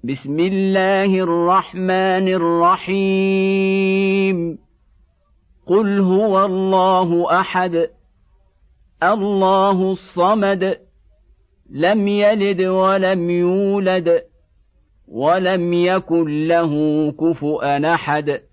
بسم الله الرحمن الرحيم قل هو الله أحد الله الصمد لم يلد ولم يولد ولم يكن له كفؤا أحد